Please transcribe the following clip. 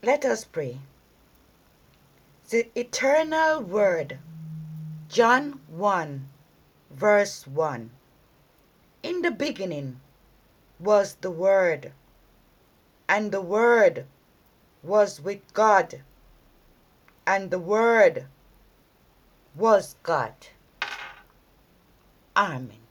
Let us pray. The eternal Word, John 1, verse 1. In the beginning was the Word, and the Word was with God, and the Word was God. Amen.